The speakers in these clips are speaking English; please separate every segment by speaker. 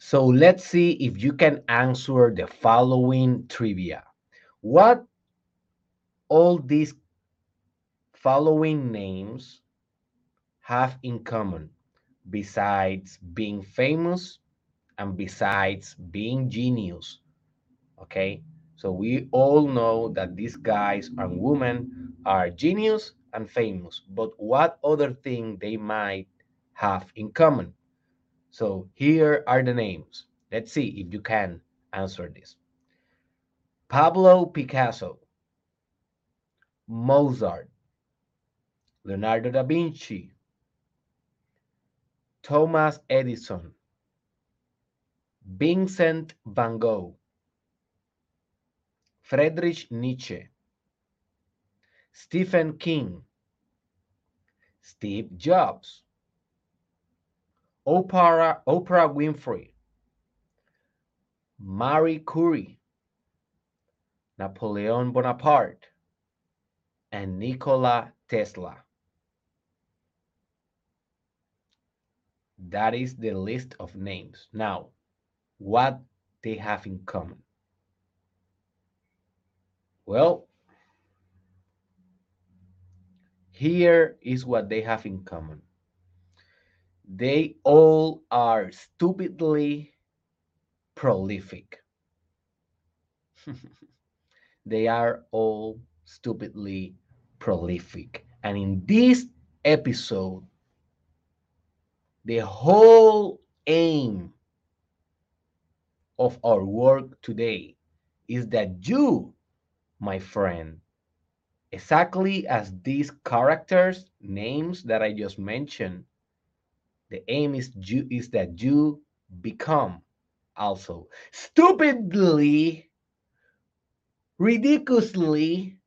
Speaker 1: So let's see if you can answer the following trivia. What all these following names have in common besides being famous and besides being genius? Okay, so we all know that these guys and women are genius and famous, but what other thing they might have in common? So here are the names. Let's see if you can answer this. Pablo Picasso, Mozart, Leonardo da Vinci, Thomas Edison, Vincent van Gogh, Friedrich Nietzsche, Stephen King, Steve Jobs, Oprah Winfrey, Marie Curie, Napoleon Bonaparte, and Nikola Tesla. That is the list of names. Now, what they have in common? Well, here is what they have in common. They all are stupidly prolific. They are all stupidly prolific. And in this episode, the whole aim of our work today is that you, my friend, exactly as these characters, names that I just mentioned, the aim is that you become also stupidly, ridiculously,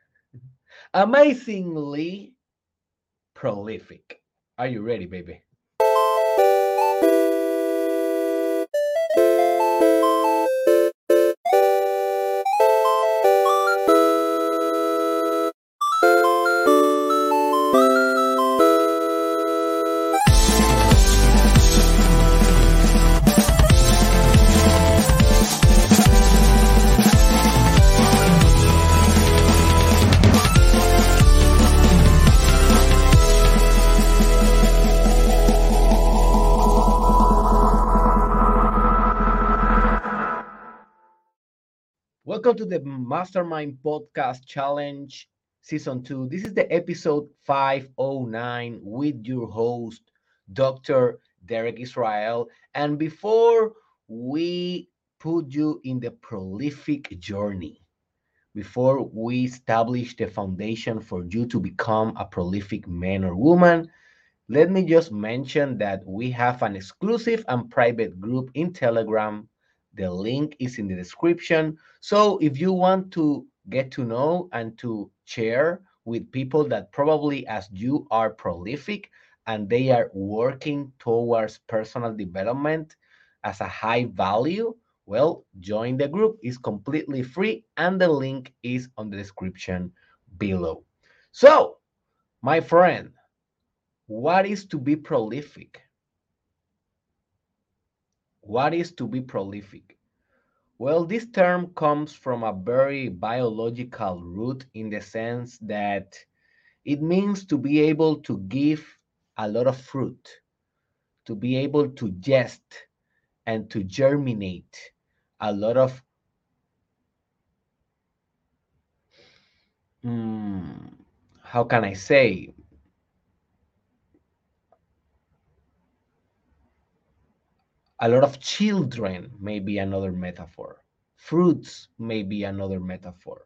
Speaker 1: amazingly prolific. Are you ready, baby? Welcome to the Mastermind Podcast Challenge Season 2. This is the episode 509 with your host, Dr. Derek Israel. And before we put you in the prolific journey, before we establish the foundation for you to become a prolific man or woman, let me just mention that we have an exclusive and private group in Telegram. The link is in the description. So if you want to get to know and to share with people that probably as you are prolific and they are working towards personal development as a high value, well, join the group. It's completely free and the link is on the description below. So, my friend, what is to be prolific? What is to be prolific? Well, this term comes from a very biological root in the sense that it means to be able to give a lot of fruit, to be able to gest and to germinate a lot of, mm, how can I say, a lot of children, may be another metaphor. Fruits may be another metaphor.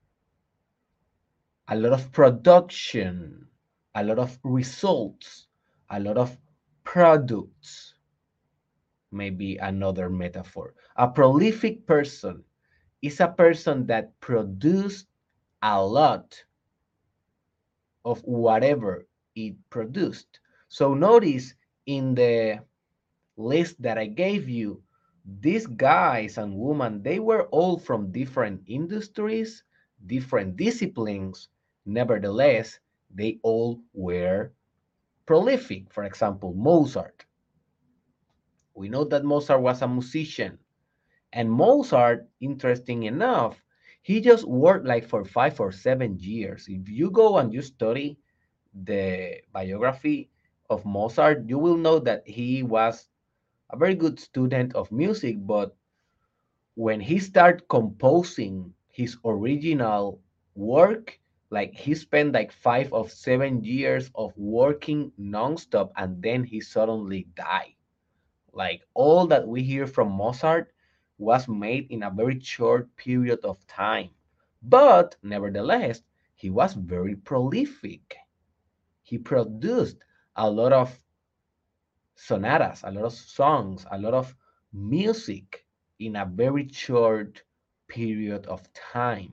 Speaker 1: A lot of production, a lot of results, a lot of products may be another metaphor. A prolific person is a person that produces a lot of whatever it produced. So notice in the list that I gave you, these guys and women, they were all from different industries, different disciplines. Nevertheless, they all were prolific. For example, Mozart. We know that Mozart was a musician. And Mozart, interesting enough, he just worked like for 5 or 7 years. If you go and you study the biography of Mozart, you will know that he was a very good student of music, but when he started composing his original work, like he spent like 5 or 7 years of working nonstop and then he suddenly died. Like all that we hear from Mozart was made in a very short period of time. But nevertheless, he was very prolific. He produced a lot of sonatas, a lot of songs, a lot of music in a very short period of time.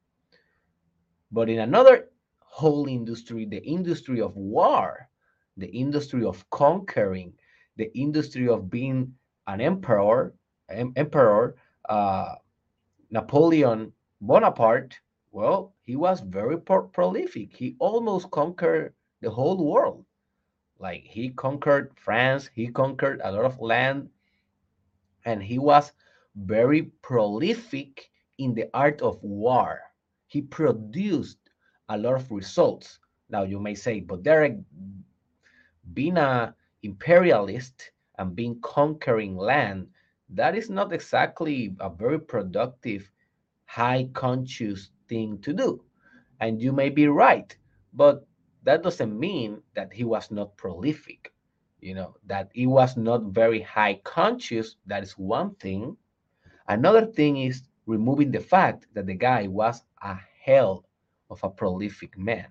Speaker 1: But in another whole industry, the industry of war, the industry of conquering, the industry of being an emperor, uh, Napoleon Bonaparte, well, he was very prolific. He almost conquered the whole world. Like he conquered France, he conquered a lot of land, and he was very prolific in the art of war. He produced a lot of results. Now you may say, but Derek, being a imperialist and being conquering land, that is not exactly a very productive, high conscious thing to do. And you may be right, but that doesn't mean that he was not prolific. That he was not very high conscious. That is one thing. Another thing is removing the fact that the guy was a hell of a prolific man.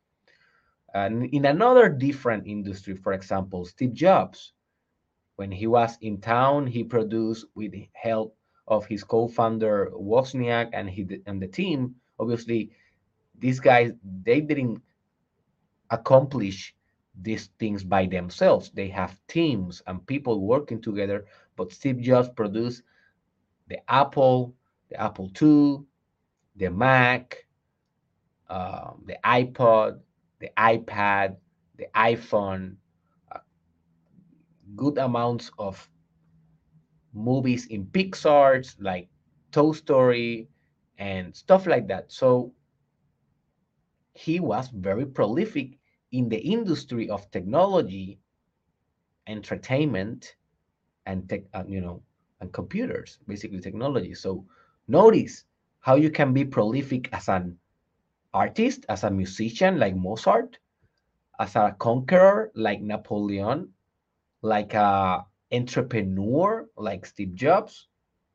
Speaker 1: And in another different industry, for example, Steve Jobs, when he was in town, he produced with the help of his co-founder Wozniak and the team. Obviously, these guys, they didn't accomplish these things by themselves. They have teams and people working together. But Steve Jobs produced the Apple II, the Mac, the iPod, the iPad, the iPhone, uh, good amounts of movies in Pixar's like Toy Story and stuff like that. So he was very prolific in the industry of technology, entertainment, and and computers, basically technology. So notice how you can be prolific as an artist, as a musician like Mozart, as a conqueror like Napoleon, like a entrepreneur like Steve Jobs,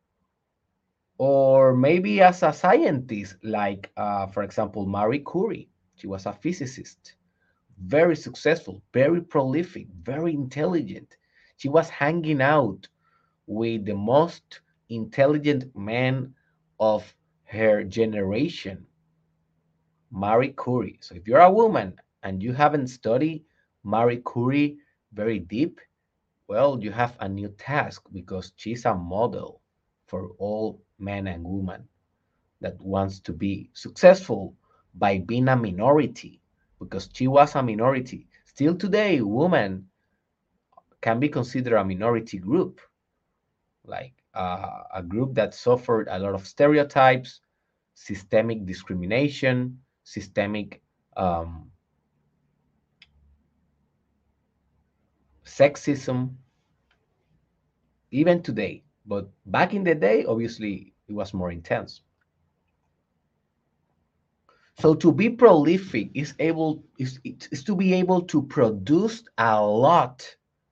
Speaker 1: or maybe as a scientist like, for example, Marie Curie. She was a physicist, very successful, very prolific, very intelligent. She was hanging out with the most intelligent man of her generation, Marie Curie. So if you're a woman and you haven't studied Marie Curie very deep, well, you have a new task because she's a model for all men and women that wants to be successful by being a minority, because she was a minority. Still today, women can be considered a minority group, like a group that suffered a lot of stereotypes, systemic discrimination, systemic um, sexism, even today. But back in the day, obviously, it was more intense. So to be prolific is to be able to produce a lot.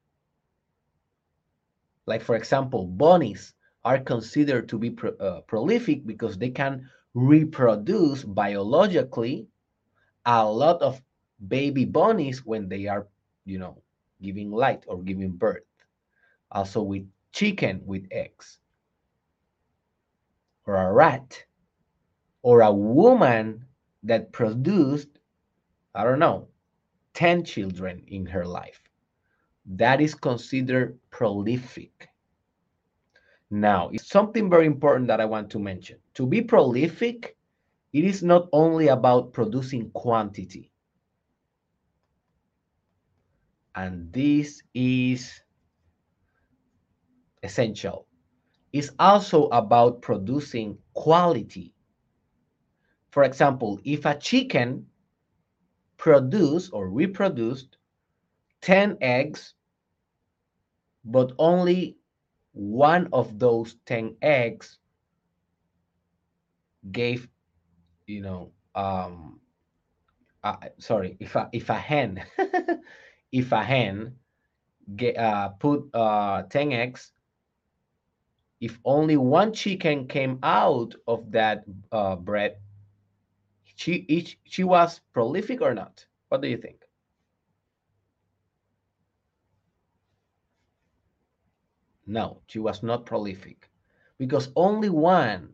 Speaker 1: Like for example, bunnies are considered to be prolific because they can reproduce biologically a lot of baby bunnies when they are, you know, giving light or giving birth. Also with chicken with eggs, or a rat, or a woman that produced, I don't know, 10 children in her life. That is considered prolific. Now, it's something very important that I want to mention. To be prolific, it is not only about producing quantity. And this is essential. It's also about producing quality. For example, if a chicken produced or reproduced 10 eggs, but only one of those 10 eggs gave, you know, sorry, if a hen, if a hen put 10 eggs, if only one chicken came out of that bread, she was prolific or not? What do you think? No, she was not prolific because only one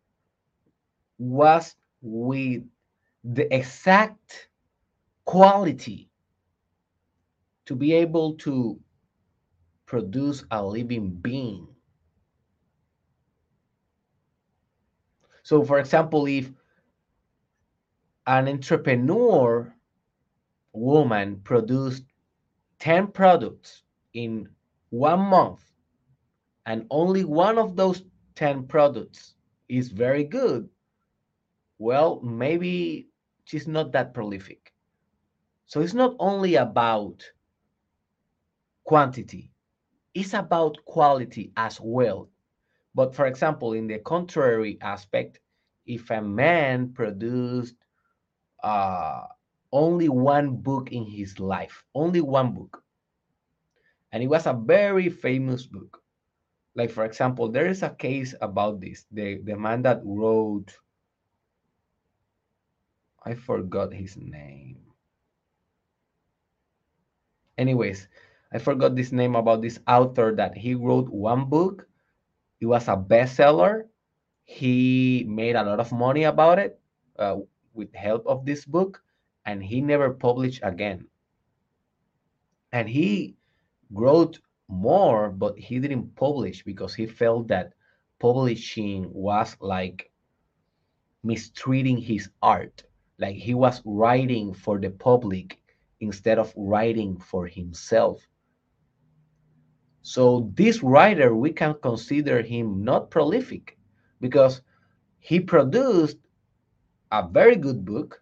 Speaker 1: was with the exact quality to be able to produce a living being. So, for example, if an entrepreneur woman produced 10 products in 1 month, and only one of those 10 products is very good, well, maybe she's not that prolific. So it's not only about quantity, it's about quality as well. But for example, in the contrary aspect, if a man produced uh, only one book in his life, only one book, and it was a very famous book. Like for example, there is a case about this. The man that wrote, I forgot his name. Anyways, I forgot this name about this author that he wrote one book. It was a bestseller. He made a lot of money about it with help of this book, and he never published again. And he wrote more, but he didn't publish because he felt that publishing was like mistreating his art. Like he was writing for the public instead of writing for himself. So this writer, we can consider him not prolific because he produced a very good book,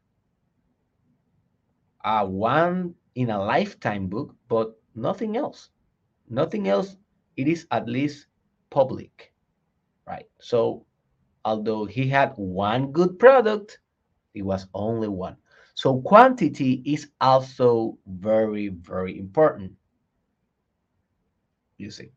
Speaker 1: a one in a lifetime book, but nothing else. Nothing else. It is at least public, right? So although he had one good product, it was only one. So quantity is also very, very important, you see.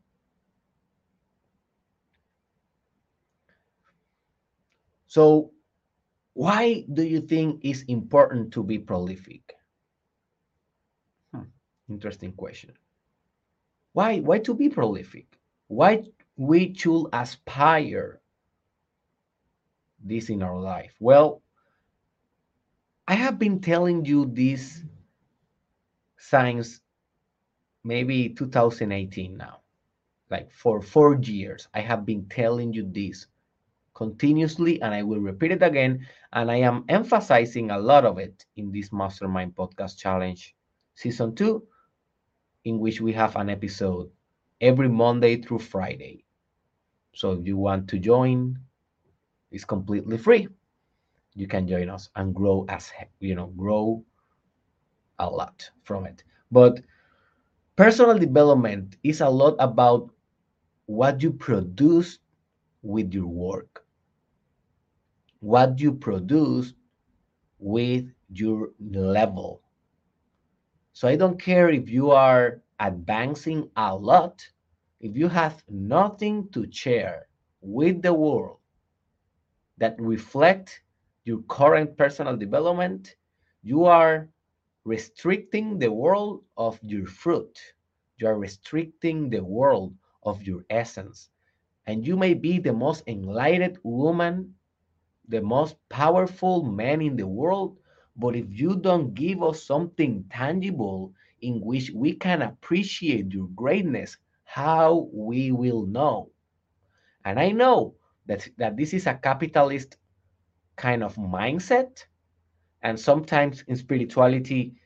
Speaker 1: So why do you think it's important to be prolific? Hmm, interesting question. Why to be prolific? Why we should aspire this in our life? Well, I have been telling you this since maybe 2018 now. Like for 4 years, I have been telling you this continuously, and I will repeat it again. And I am emphasizing a lot of it in this Mastermind Podcast Challenge Season 2, in which we have an episode every Monday through Friday. So if you want to join, it's completely free. You can join us and grow grow a lot from it. But personal development is a lot about what you produce with your work, what you produce with your level. So I don't care if you are advancing a lot, if you have nothing to share with the world that reflect your current personal development, you are restricting the world of your fruit. You are restricting the world of your essence. And you may be the most enlightened woman, the most powerful man in the world, but if you don't give us something tangible in which we can appreciate your greatness, how we will know? And I know that this is a capitalist kind of mindset, and sometimes in spirituality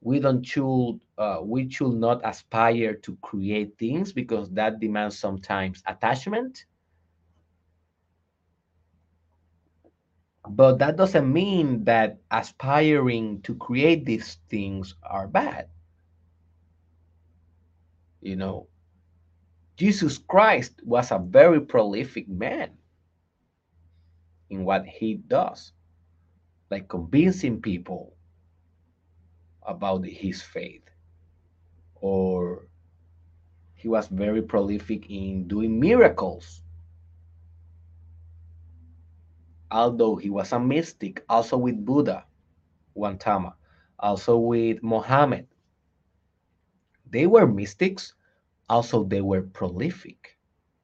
Speaker 1: we should not aspire to create things because that demands sometimes attachment, but that doesn't mean that aspiring to create these things are bad. You know, Jesus Christ was a very prolific man in what he does, like convincing people about his faith, or he was very prolific in doing miracles, although he was a mystic, also with Buddha, Gautama, also with Mohammed. They were mystics, also they were prolific.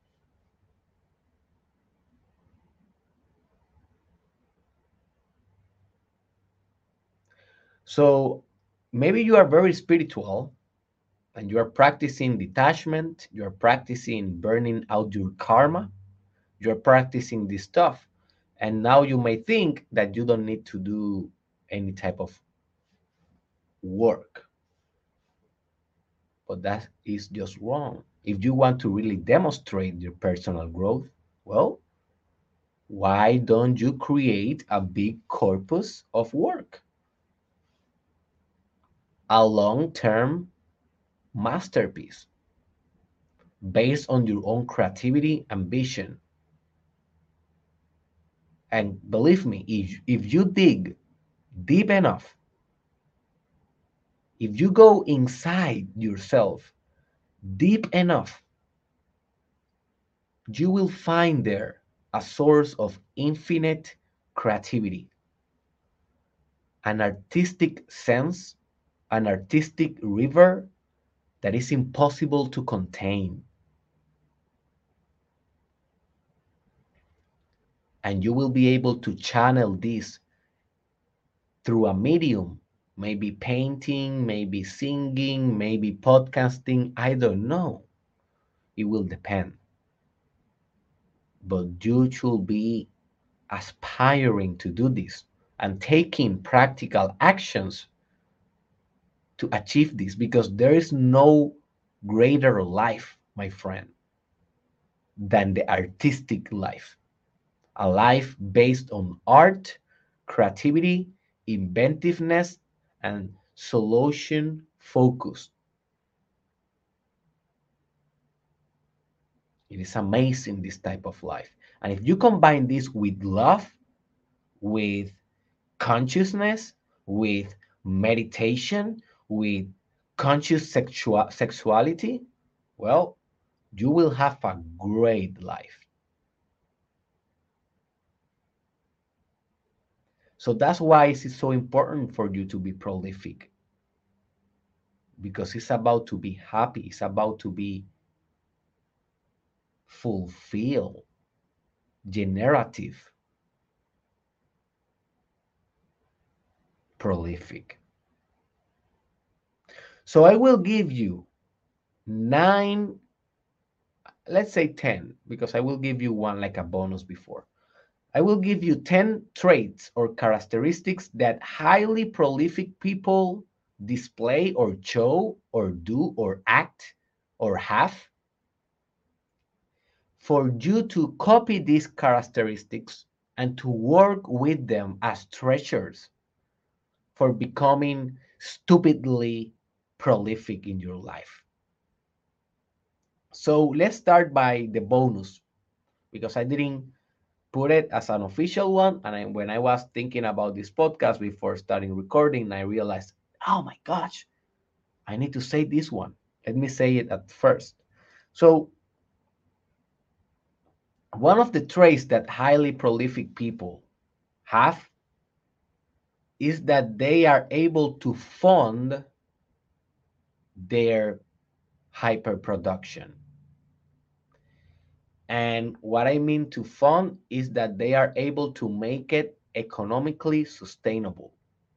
Speaker 1: So maybe you are very spiritual and you are practicing detachment, you are practicing burning out your karma, you are practicing this stuff. And now you may think that you don't need to do any type of work, but that is just wrong. If you want to really demonstrate your personal growth, well, why don't you create a big corpus of work, a long term masterpiece based on your own creativity and vision? And believe me, if you dig deep enough, if you go inside yourself deep enough, you will find there a source of infinite creativity, an artistic sense, an artistic river that is impossible to contain. And you will be able to channel this through a medium, maybe painting, maybe singing, maybe podcasting. I don't know. It will depend. But you should be aspiring to do this and taking practical actions to achieve this, because there is no greater life, my friend, than the artistic life. A life based on art, creativity, inventiveness, and solution focus. It is amazing, this type of life. And if you combine this with love, with consciousness, with meditation, with conscious sexuality, well, you will have a great life. So that's why it's so important for you to be prolific, because it's about to be happy, it's about to be fulfilled, generative, prolific. So I will give you nine, let's say 10, because I will give you one like a bonus before. I will give you 10 traits or characteristics that highly prolific people display or show or do or act or have, for you to copy these characteristics and to work with them as treasures for becoming stupidly prolific in your life. So let's start by the bonus, because I didn't put it as an official one. And when I was thinking about this podcast before starting recording, I realized, oh my gosh, I need to say this one. Let me say it at first. So, one of the traits that highly prolific people have is that they are able to fund their hyperproduction. And what I mean to fund is that they are able to make it economically sustainable.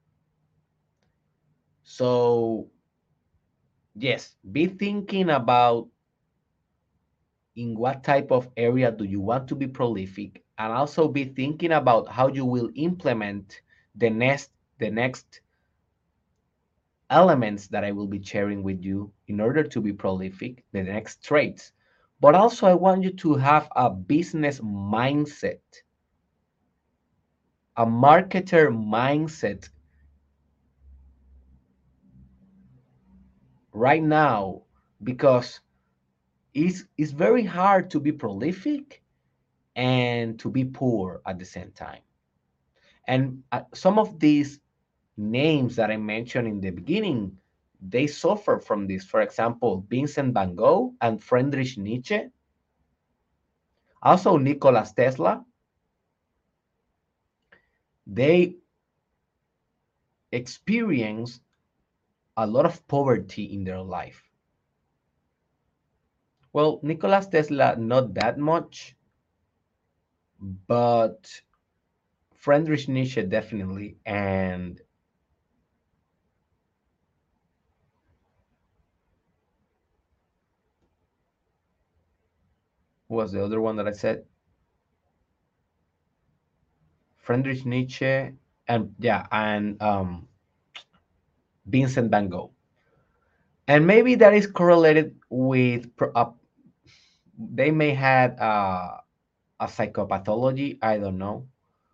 Speaker 1: So, yes, be thinking about in what type of area do you want to be prolific, and also be thinking about how you will implement the next elements that I will be sharing with you in order to be prolific, the next traits. But also, I want you to have a business mindset, a marketer mindset right now, because it's very hard to be prolific and to be poor at the same time. And some of these names that I mentioned in the beginning, they suffer from this. For example, Vincent van Gogh and Friedrich Nietzsche, also Nikola Tesla, they experience a lot of poverty in their life. Well, Nikola Tesla, not that much, but Friedrich Nietzsche definitely. And who was the other one that I said? Friedrich Nietzsche, and yeah, and Vincent van Gogh. And maybe that is correlated with they may had a psychopathology. I don't know.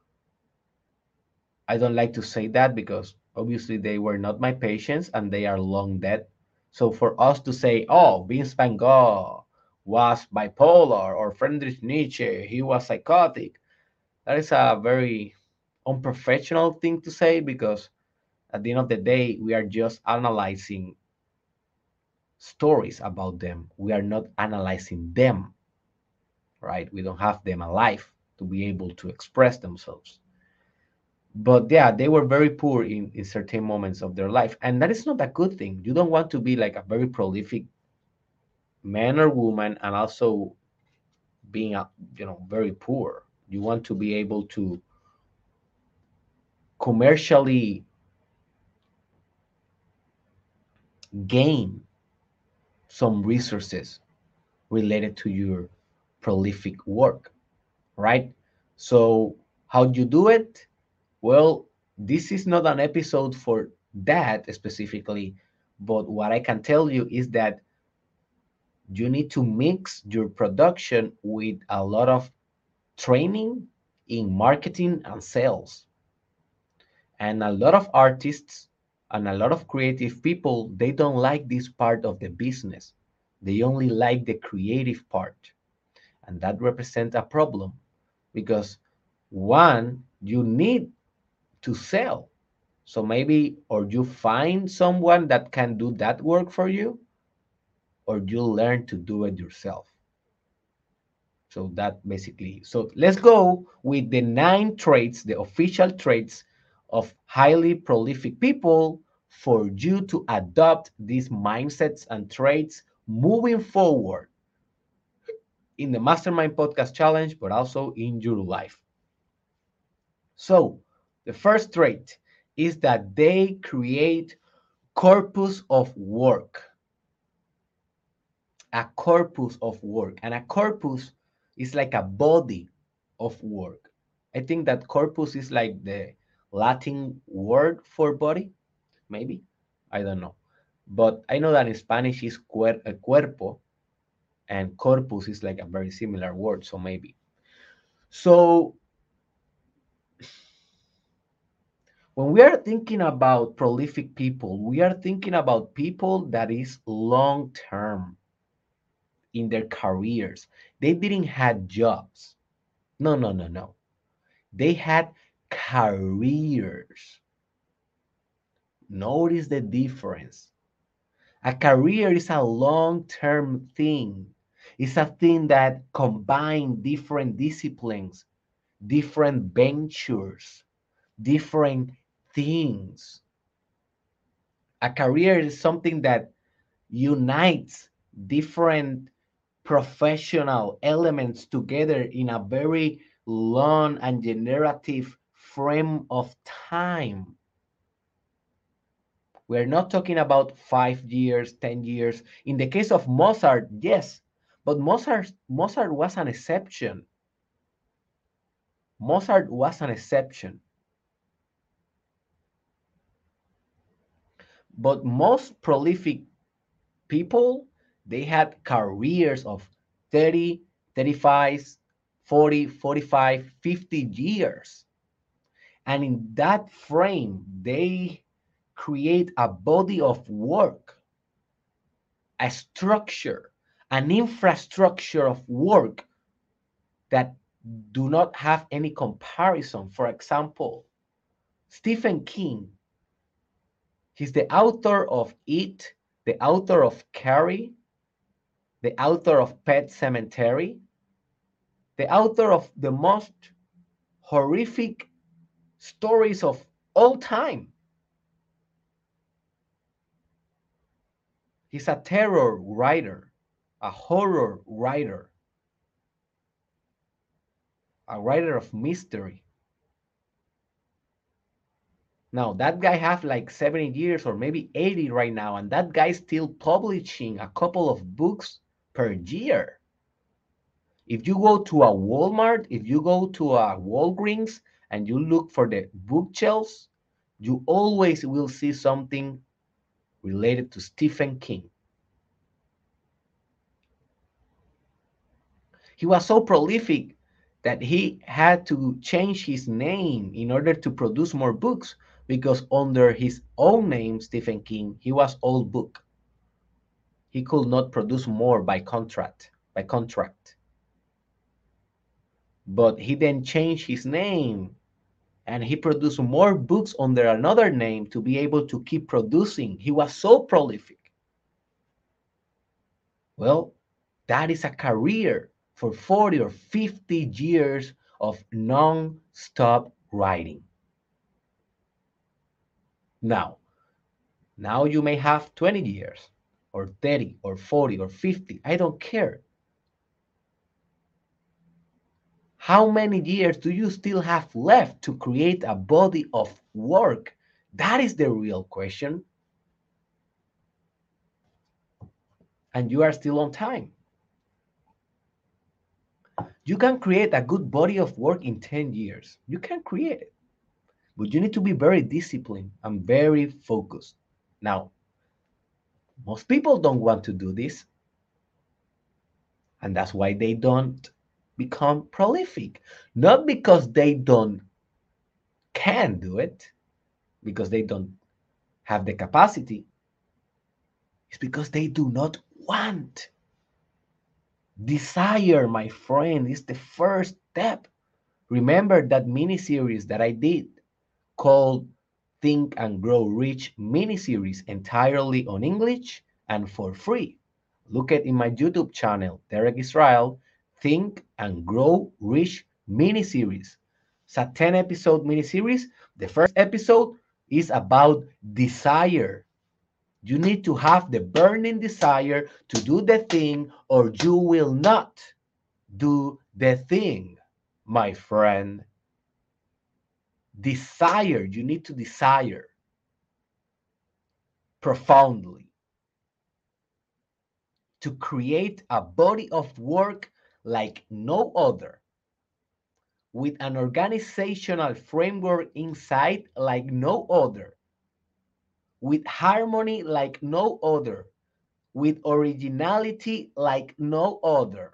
Speaker 1: I don't like to say that because obviously they were not my patients and they are long dead. So for us to say, oh, Vince van Gogh was bipolar or Friedrich Nietzsche, he was psychotic, that is a very unprofessional thing to say because at the end of the day, we are just analyzing stories about them. We are not analyzing them, right? We don't have them alive to be able to express themselves. But yeah, they were very poor in certain moments of their life. And that is not a good thing. You don't want to be like a very prolific man or woman and also being very poor. You want to be able to commercially gain some resources related to your prolific work, right? So how do you do it? Well, this is not an episode for that specifically, but what I can tell you is that you need to mix your production with a lot of training in marketing and sales. And a lot of artists and a lot of creative people, they don't like this part of the business. They only like the creative part. And that represents a problem because one, you need to sell. So maybe, or you find someone that can do that work for you, or you learn to do it yourself. So that basically, so let's go with the 9 traits, the official traits of highly prolific people for you to adopt these mindsets and traits moving forward in the Mastermind Podcast Challenge, but also in your life. So the first trait is that they create corpus of work, a corpus of work. And a corpus is like a body of work. I think that corpus is like the Latin word for body, maybe. I don't know. But I know that in Spanish is cuerpo, and corpus is like a very similar word, so maybe. So when we are thinking about prolific people, we are thinking about people that is long term in their careers. They didn't have jobs. No, no, no, no. They had careers. Notice the difference. A career is a long-term thing. It's a thing that combines different disciplines, different ventures, different things. A career is something that unites different professional elements together in a very long and generative frame of time. We're not talking about 5 years, 10 years. In the case of Mozart, yes, but Mozart was an exception. Mozart was an exception. But most prolific people, they had careers of 30, 35, 40, 45, 50 years. And in that frame, they create a body of work, a structure, an infrastructure of work that do not have any comparison. For example, Stephen King, he's the author of It, the author of Carrie, the author of Pet Cemetery, the author of the most horrific stories of all time. He's a terror writer, a horror writer, a writer of mystery. Now, that guy have like 70 years or maybe 80 right now, and that guy's still publishing a couple of books per year. If you go to a Walmart, if you go to a Walgreens and you look for the bookshelves, you always will see something related to Stephen King. He was so prolific that he had to change his name in order to produce more books because under his own name, Stephen King, he was all book. He could not produce more by contract. But he then changed his name and he produced more books under another name to be able to keep producing. He was so prolific. Well, that is a career for 40 or 50 years of non-stop writing. Now, now you may have 20 years or 30 or 40 or 50. I don't care. How many years do you still have left to create a body of work? That is the real question. And you are still on time. You can create a good body of work in 10 years. You can create it. But you need to be very disciplined and very focused. Now, most people don't want to do this. And that's why they don't become prolific. Not because they don't can do it, because they don't have the capacity. It's because they do not want. Desire, my friend, is the first step. Remember that mini series that I did called Think and Grow Rich mini series entirely on English and for free. Look at in my YouTube channel, Derek Israel, Think and Grow Rich mini series. It's a 10 episode mini series. The first episode is about desire. You need to have the burning desire to do the thing, or you will not do the thing, my friend. Desire, you need to desire profoundly to create a body of work like no other, with an organizational framework inside like no other, with harmony like no other, with originality like no other.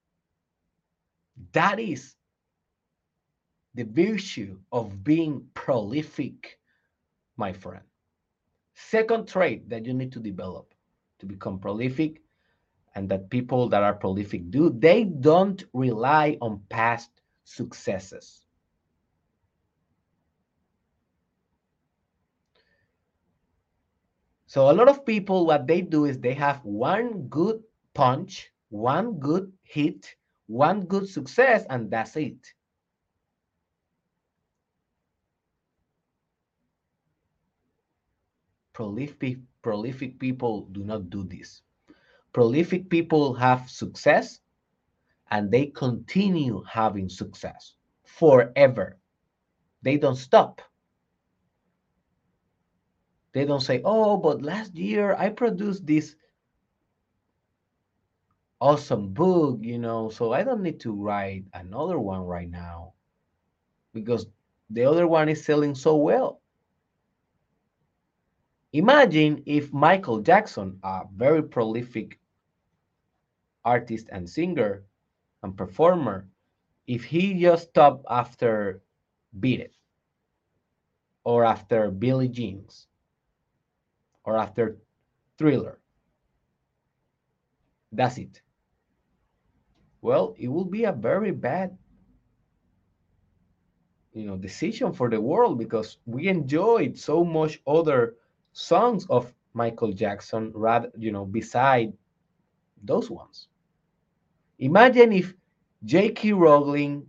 Speaker 1: That is the virtue of being prolific, my friend. Second trait that you need to develop to become prolific, and that people that are prolific do, they don't rely on past successes. So a lot of people, what they do is they have one good punch, one good hit, one good success, and that's it. Prolific people do not do this. Prolific people have success and they continue having success forever. They don't stop. They don't say, oh, but last year I produced this awesome book, so I don't need to write another one right now because the other one is selling so well. Imagine if Michael Jackson, a very prolific artist and singer and performer, if he just stopped after Beat It or after Billie Jeans or after Thriller, that's it. Well, it will be a very bad, decision for the world because we enjoyed so much other songs of Michael Jackson rather, beside those ones. Imagine if J.K. Rowling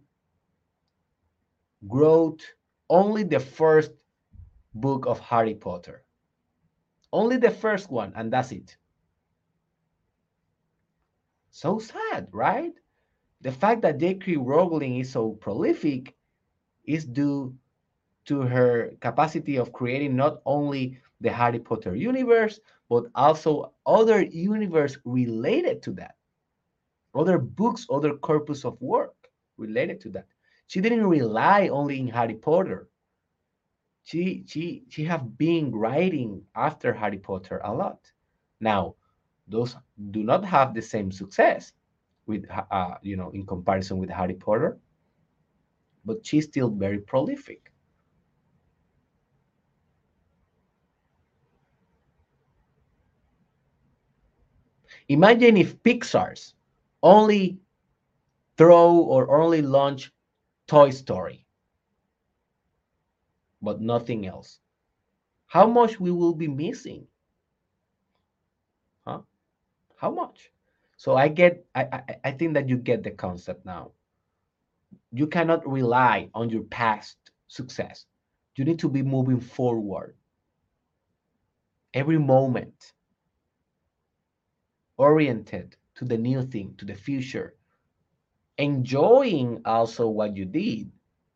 Speaker 1: wrote only the first book of Harry Potter, only the first one, and that's it. So sad, right? The fact that J.K. Rowling is so prolific is due to her capacity of creating not only the Harry Potter universe, but also other universe related to that, other books, other corpus of work related to that. She didn't rely only in Harry Potter. She have been writing after Harry Potter a lot. Now, those do not have the same success with in comparison with Harry Potter, but she's still very prolific. Imagine if Pixar's only throw or only launch Toy Story, but nothing else. How much we will be missing, huh? How much? So I think that you get the concept now. You cannot rely on your past success. You need to be moving forward every moment, oriented to the new thing, to the future, enjoying also what you did,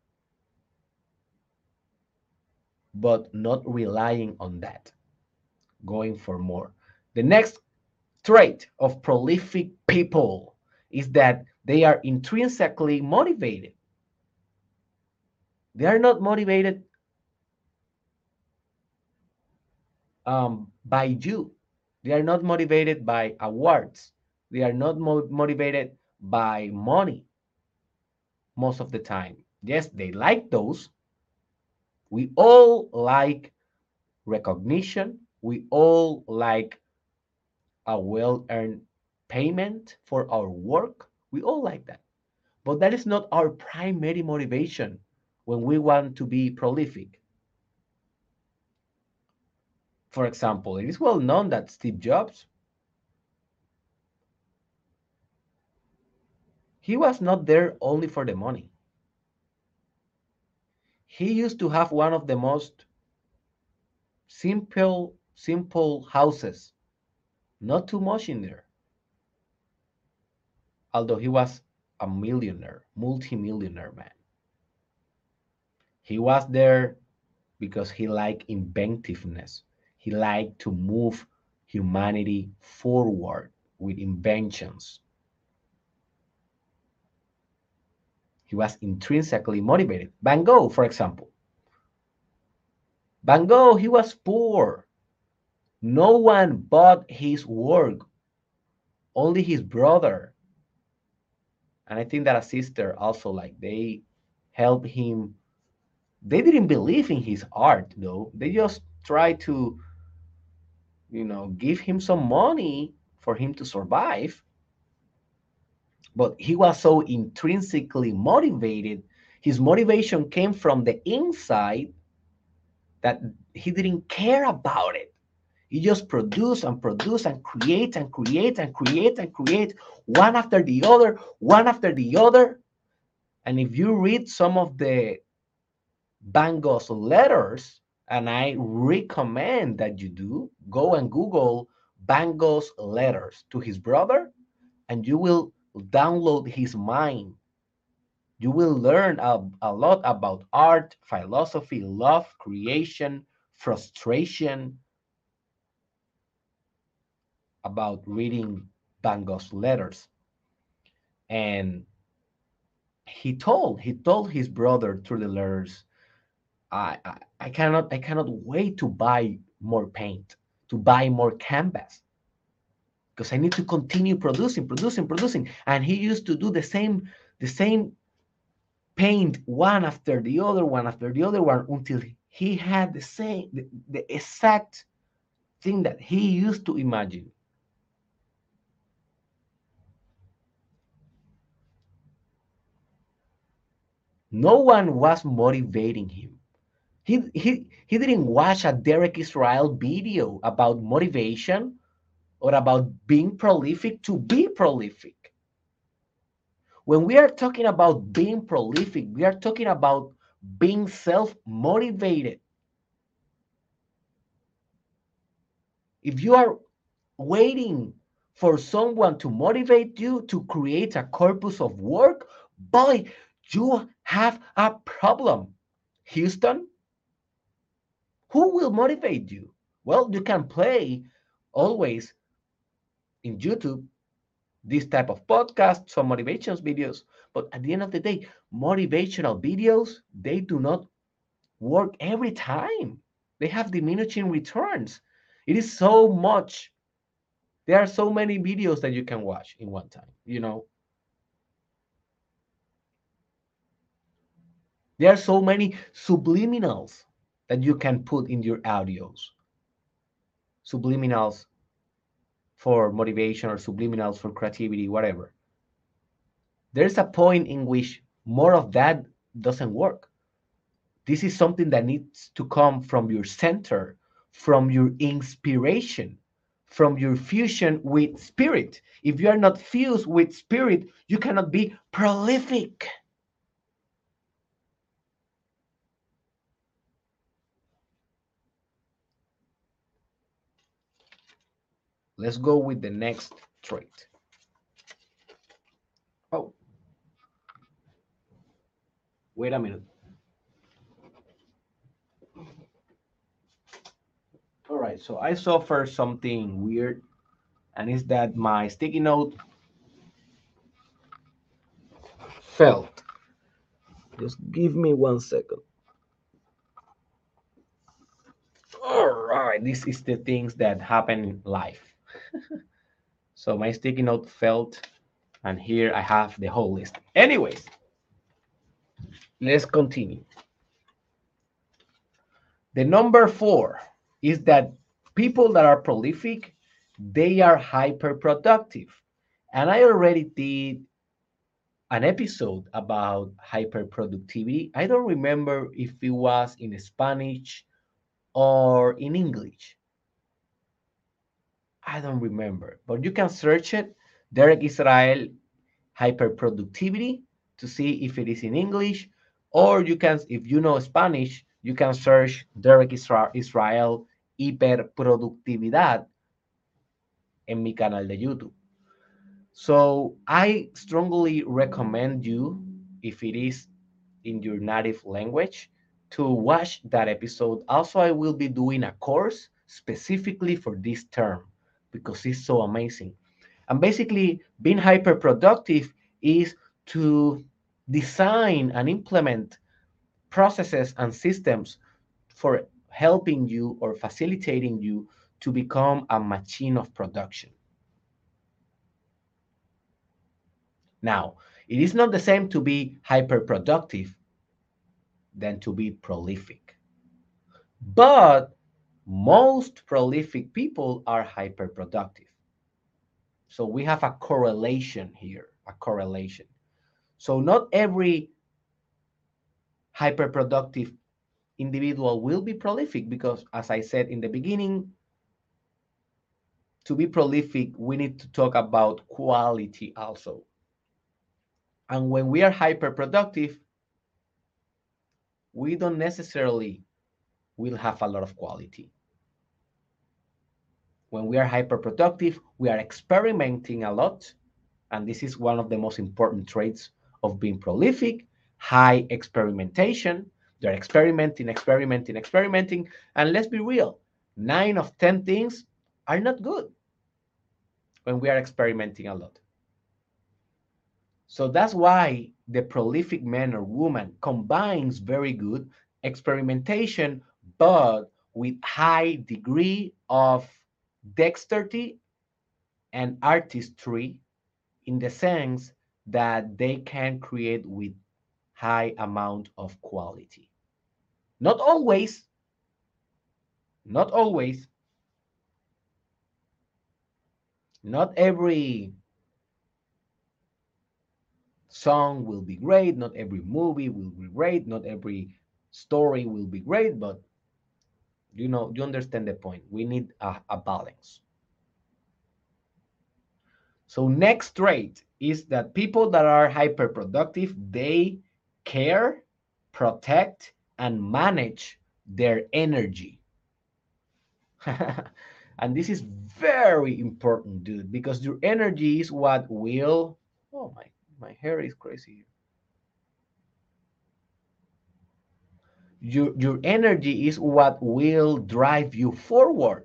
Speaker 1: but not relying on that, going for more. The next trait of prolific people is that they are intrinsically motivated. They are not motivated by you. They are not motivated by awards. They are not motivated by money most of the time. Yes, they like those. We all like recognition. We all like a well earned payment for our work. We all like that. But that is not our primary motivation when we want to be prolific. For example, it is well known that Steve Jobs, he was not there only for the money. He used to have one of the most simple houses, not too much in there, although he was a millionaire, multimillionaire man. He was there because he liked inventiveness. He liked to move humanity forward with inventions. He was intrinsically motivated. Van Gogh, for example. Van Gogh, he was poor. No one bought his work, only his brother. And I think that a sister also, like, they helped him. They didn't believe in his art, though. They just tried to, give him some money for him to survive. But he was so intrinsically motivated. His motivation came from the inside that he didn't care about it. He just produce and produce and create and create and create and create one after the other, one after the other. And if you read some of the Van Gogh's letters, and I recommend that you do, go and Google Van Gogh's letters to his brother, and you will download his mind. You will learn a lot about art, philosophy, love, creation, frustration, about reading Van Gogh's letters. And he told his brother through the letters, I cannot wait to buy more paint, to buy more canvas, because I need to continue producing, producing, producing. And he used to do the same paint one after the other, one after the other one, until he had the exact thing that he used to imagine. No one was motivating him. He didn't watch a Derek Israel video about motivation or about being prolific to be prolific. When we are talking about being prolific, we are talking about being self motivated. If you are waiting for someone to motivate you to create a corpus of work, boy, you have a problem. Houston, who will motivate you? Well, you can play always in YouTube this type of podcast, some motivations videos, but at the end of the day, motivational videos, they do not work every time. They have diminishing returns. It is so much. There are so many videos that you can watch in one time, There are so many subliminals that you can put in your audios. Subliminals for motivation or subliminals for creativity, whatever. There's a point in which more of that doesn't work. This is something that needs to come from your center, from your inspiration, from your fusion with spirit. If you are not fused with spirit, you cannot be prolific. Let's go with the next trait. Oh, wait a minute. All right, so I suffer something weird, and it's that my sticky note fell. Just give me 1 second. All right, this is the things that happen in life. So my sticky note fell, and here I have the whole list. Anyways, let's continue. The number 4 is that people that are prolific, they are hyper productive. And I already did an episode about hyperproductivity. I don't remember if it was in Spanish or in English. I don't remember, but you can search it, Derek Israel hyperproductivity, to see if it is in English, or you can, if you know Spanish, you can search Derek Israel hiperproductividad en mi canal de YouTube. So I strongly recommend you, if it is in your native language, to watch that episode. Also, I will be doing a course specifically for this term because it's so amazing. And basically, being hyper productive is to design and implement processes and systems for helping you or facilitating you to become a machine of production. Now, it is not the same to be hyper productive than to be prolific. But most prolific people are hyper productive. So we have a correlation here, a correlation. So not every hyper productive individual will be prolific because, as I said in the beginning, to be prolific, we need to talk about quality also. And when we are hyper productive, we don't necessarily will have a lot of quality. When we are hyper productive, we are experimenting a lot. And this is one of the most important traits of being prolific, high experimentation. They're experimenting, experimenting, experimenting. And let's be real, 9 of 10 things are not good when we are experimenting a lot. So that's why the prolific man or woman combines very good experimentation, but with high degree of dexterity and artistry, in the sense that they can create with high amount of quality. Not always, not always, not every song will be great, not every movie will be great, not every story will be great, but you understand the point. We need a balance. So next trait is that people that are hyperproductive, they care, protect, and manage their energy. And this is very important, dude, because your energy is what will. Oh my hair is crazy. Your energy is what will drive you forward.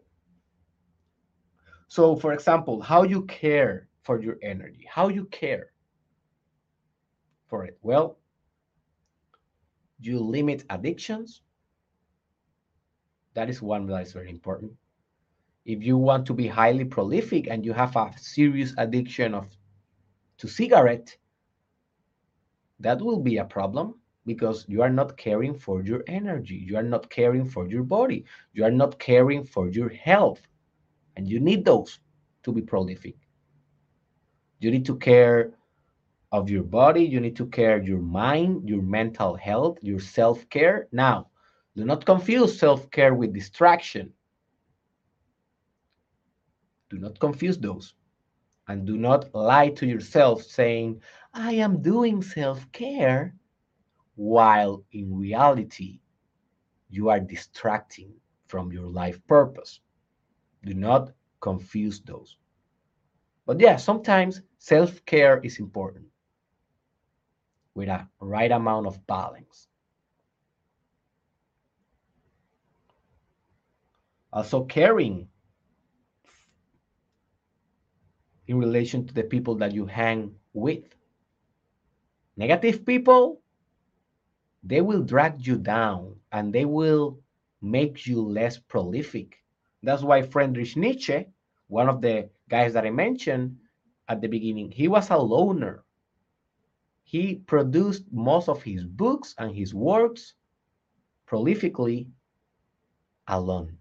Speaker 1: So, for example, how you care for your energy, how you care for it. Well, you limit addictions. That is one that is very important. If you want to be highly prolific and you have a serious addiction to cigarette, that will be a problem because you are not caring for your energy. You are not caring for your body. You are not caring for your health. And you need those to be prolific. You need to care of your body. You need to care your mind, your mental health, your self-care. Now, do not confuse self-care with distraction. Do not confuse those. And do not lie to yourself saying, I am doing self-care, while in reality, you are distracting from your life purpose. Do not confuse those. But yeah, sometimes self-care is important with a right amount of balance. Also, caring in relation to the people that you hang with. Negative people, they will drag you down and they will make you less prolific. That's why Friedrich Nietzsche, one of the guys that I mentioned at the beginning, he was a loner. He produced most of his books and his works prolifically alone.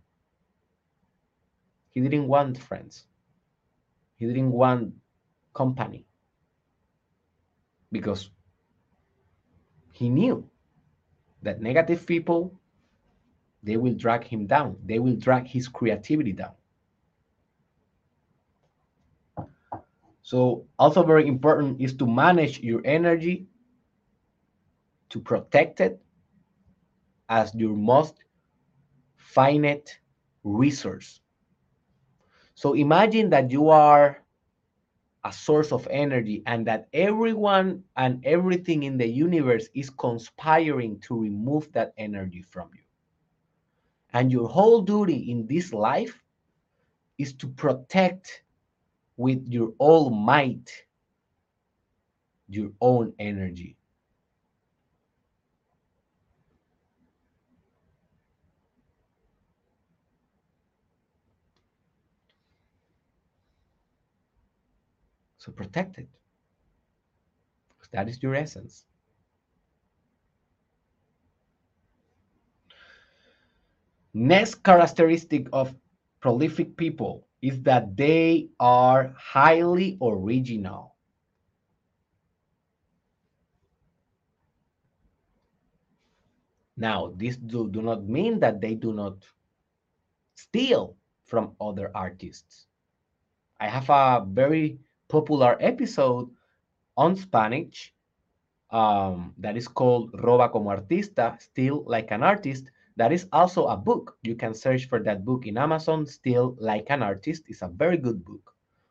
Speaker 1: He didn't want friends. He didn't want company because he knew that negative people, they will drag him down. They will drag his creativity down. So also very important is to manage your energy, to protect it as your most finite resource. So imagine that you are a source of energy and that everyone and everything in the universe is conspiring to remove that energy from you. And your whole duty in this life is to protect with your all might your own energy. So protect it, because that is your essence. Next characteristic of prolific people is that they are highly original. Now, this do not mean that they do not steal from other artists. I have a very popular episode on Spanish that is called Roba como Artista, Steal Like an Artist. That is also a book. You can search for that book in Amazon. Steal Like an Artist is a very good book,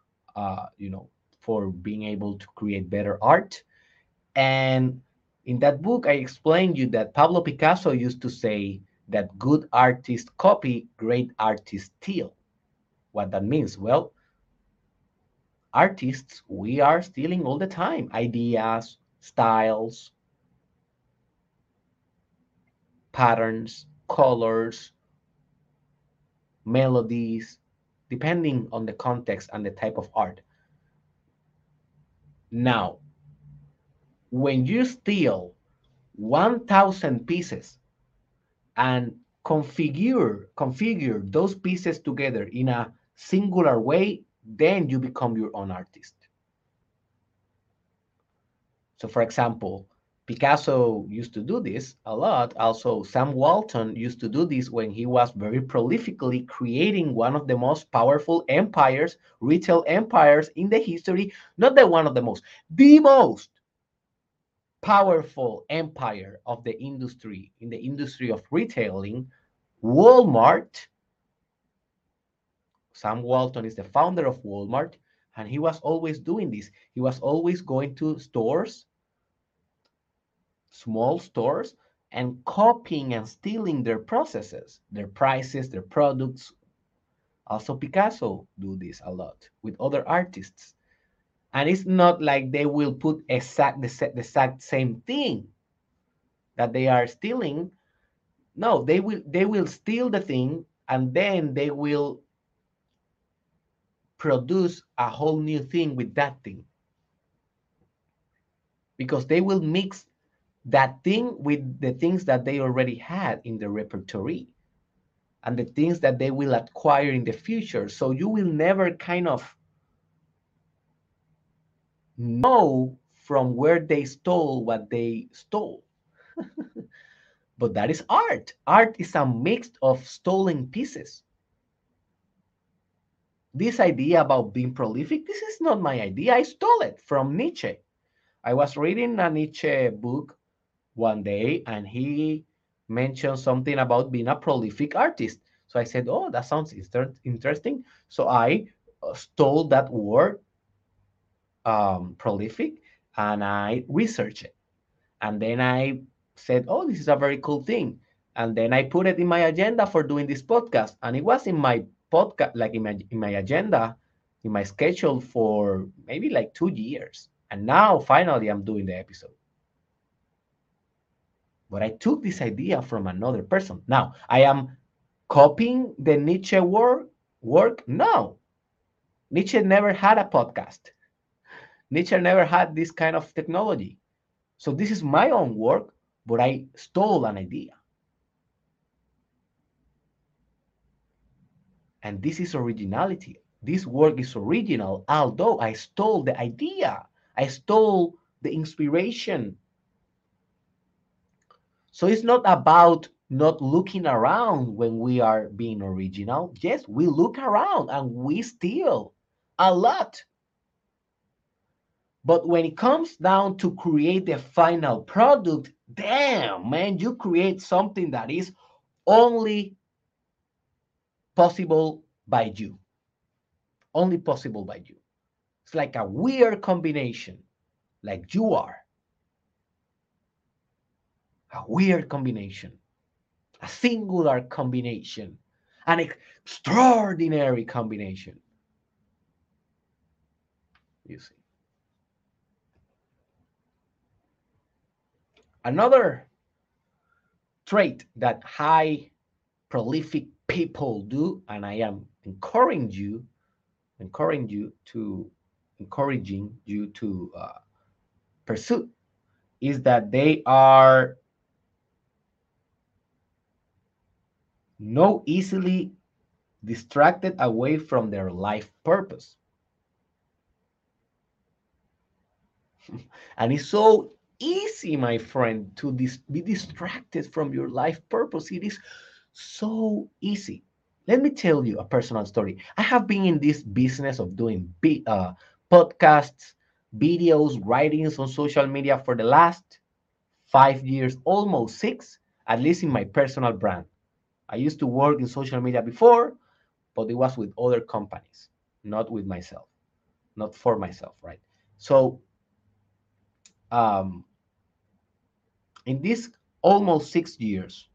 Speaker 1: for being able to create better art. And in that book, I explained you that Pablo Picasso used to say that good artists copy, great artists steal. What that means? Well, artists, we are stealing all the time ideas, styles, patterns, colors, melodies, depending on the context and the type of art. Now, when you steal 1,000 pieces and configure those pieces together in a singular way, then you become your own artist. So, for example, Picasso used to do this a lot. Also, Sam Walton used to do this when he was very prolifically creating one of the most powerful empires, retail empires in the history. Not the one of the most, the most powerful empire of the industry, in the industry of retailing, Walmart. Sam Walton is the founder of Walmart, and he was always doing this. He was always going to stores, small stores, and copying and stealing their processes, their prices, their products. Also, Picasso do this a lot with other artists. And it's not like they will put the exact same thing that they are stealing. No, they will steal the thing and then they will produce a whole new thing with that thing, because they will mix that thing with the things that they already had in the repertoire and the things that they will acquire in the future. So you will never kind of know from where they stole what they stole. But that is art. Art is a mix of stolen pieces. This idea about being prolific, this is not my idea. I stole it from Nietzsche. I was reading a Nietzsche book one day and he mentioned something about being a prolific artist. So I said, oh, that sounds interesting. So I stole that word, prolific, and I researched it. And then I said, oh, this is a very cool thing. And then I put it in my agenda for doing this podcast. And it was in my podcast, like in my agenda, in my schedule for maybe like 2 years. And now finally I'm doing the episode. But I took this idea from another person. Now, I am copying the Nietzsche work? No. Nietzsche never had a podcast. Nietzsche never had this kind of technology. So this is my own work, but I stole an idea. And this is originality. This work is original, although I stole the idea. I stole the inspiration. So it's not about not looking around when we are being original. Yes, we look around and we steal a lot. But when it comes down to create the final product, damn, man, you create something that is only possible by you. Only possible by you. It's like a weird combination, like you are. A weird combination, a singular combination, an extraordinary combination. You see. Another trait that high prolific people do, and I am encouraging you to pursue, is that they are no easily distracted away from their life purpose. And it's so easy, my friend, to be distracted from your life purpose. It is so easy. Let me tell you a personal story. I have been in this business of doing podcasts, videos, writings on social media for the last 5 years, almost six, at least in my personal brand. I used to work in social media before, but it was with other companies, not with myself, not for myself, right? So, um, in these almost 6 years,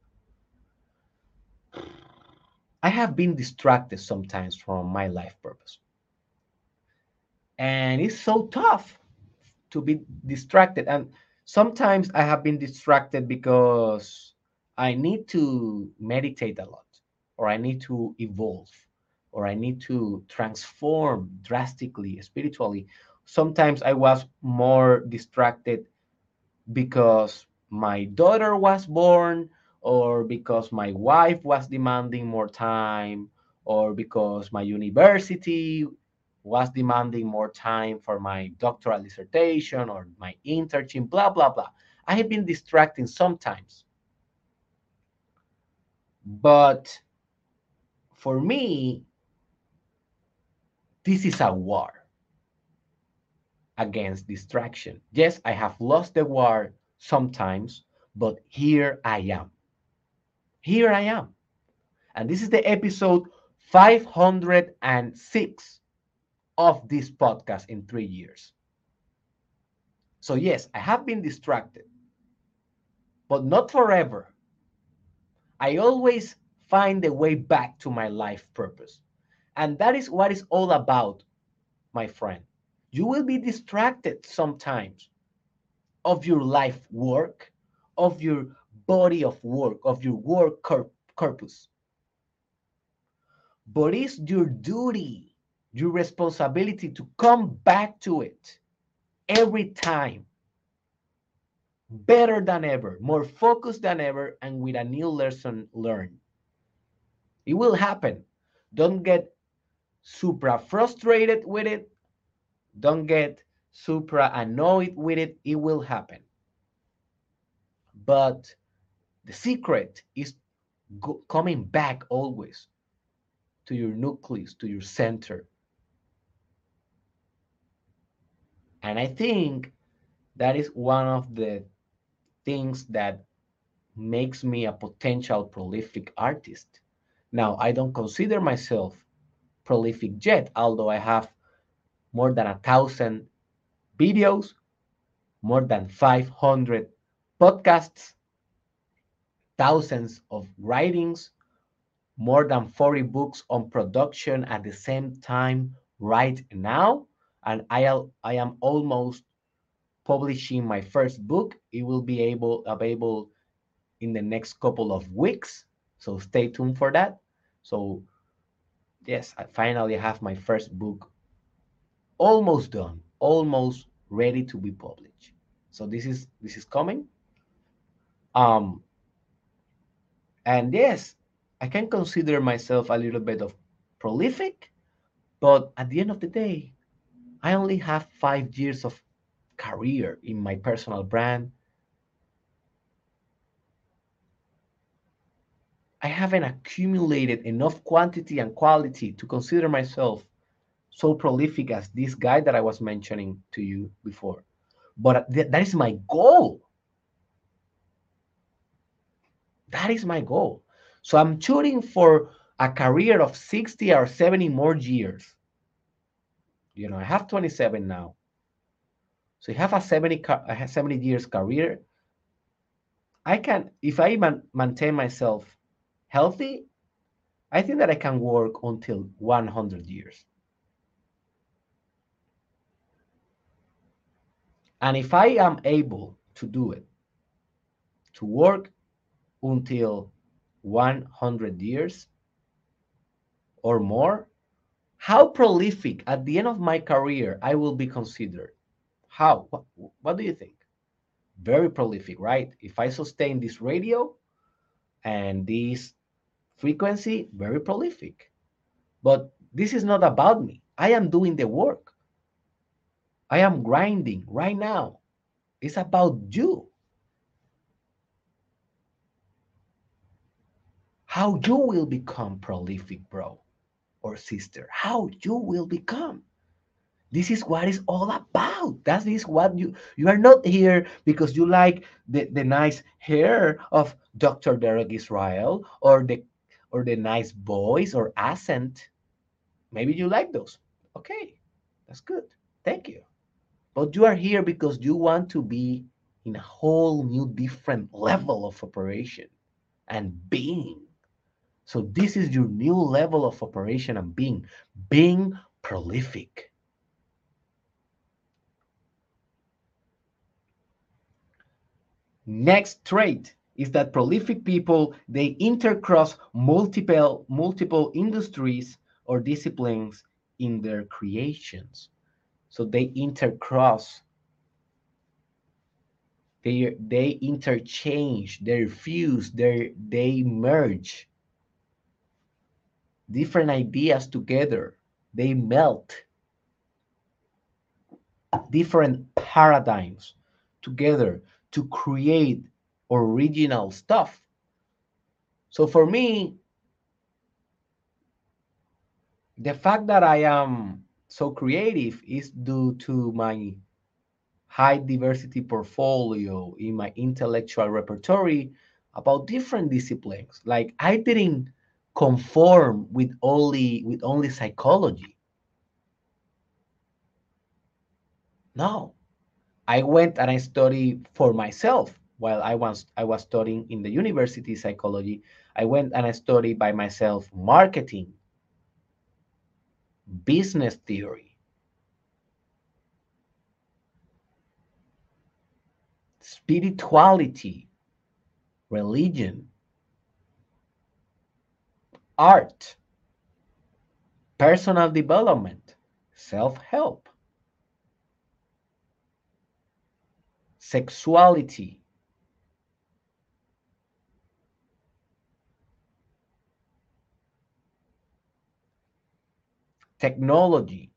Speaker 1: I have been distracted sometimes from my life purpose. And it's so tough to be distracted. And sometimes I have been distracted because I need to meditate a lot. or I need to evolve, or I need to transform drastically spiritually. Sometimes I was more distracted because my daughter was born, or because my wife was demanding more time, or because my university was demanding more time for my doctoral dissertation or my internship, blah, blah, blah. I have been distracting sometimes. But for me, this is a war against distraction. Yes, I have lost the war sometimes, but here I am. Here I am. And this is the episode 506 of this podcast in 3 years. So, yes, I have been distracted, but not forever. I always find a way back to my life purpose. And that is what it's all about, my friend. You will be distracted sometimes of your life work, of your body of work, of your work purpose. But it's your duty, your responsibility to come back to it every time, better than ever, more focused than ever, and with a new lesson learned. It will happen. Don't get super frustrated with it. Don't get super annoyed with it. It will happen. But the secret is coming back always to your nucleus, to your center. And I think that is one of the things that makes me a potential prolific artist. Now, I don't consider myself prolific yet, although I have more than 1,000 videos, more than 500 podcasts, thousands of writings, more than 40 books on production at the same time right now. And I am almost publishing my first book. It will be available in the next couple of weeks. So stay tuned for that. So yes, I finally have my first book almost done, almost ready to be published. So this is coming. Um, and yes, I can consider myself a little bit of prolific, but at the end of the day, I only have 5 years of career in my personal brand. I haven't accumulated enough quantity and quality to consider myself so prolific as this guy that I was mentioning to you before. But that is my goal. That is my goal. So I'm shooting for a career of 60 or 70 more years. I have 27 now. So you have a 70 years career. I can, if I maintain myself healthy, I think that I can work until 100 years. And if I am able to do it, to work until 100 years or more, how prolific at the end of my career I will be considered? How? What do you think? Very prolific, right? If I sustain this radio and this frequency, very prolific. But this is not about me. I am doing the work. I am grinding right now. It's about you. How you will become prolific, bro or sister. How you will become. This is what it's all about. That is what you are not here because you like the nice hair of Dr. Derek Israel or the nice voice or accent. Maybe you like those. Okay, that's good. Thank you. But you are here because you want to be in a whole new different level of operation and being. So this is your new level of operation and being prolific. Next trait is that prolific people, they intercross multiple industries or disciplines in their creations. So they intercross, they interchange, they fuse, they merge different ideas together. They melt different paradigms together to create original stuff. So for me, the fact that I am so creative is due to my high diversity portfolio in my intellectual repertoire about different disciplines. Like I didn't conform with only psychology. No, I went and I studied for myself while I was studying in the university psychology. I went and I studied by myself marketing, business theory, spirituality, religion, art, personal development, self-help, sexuality, technology.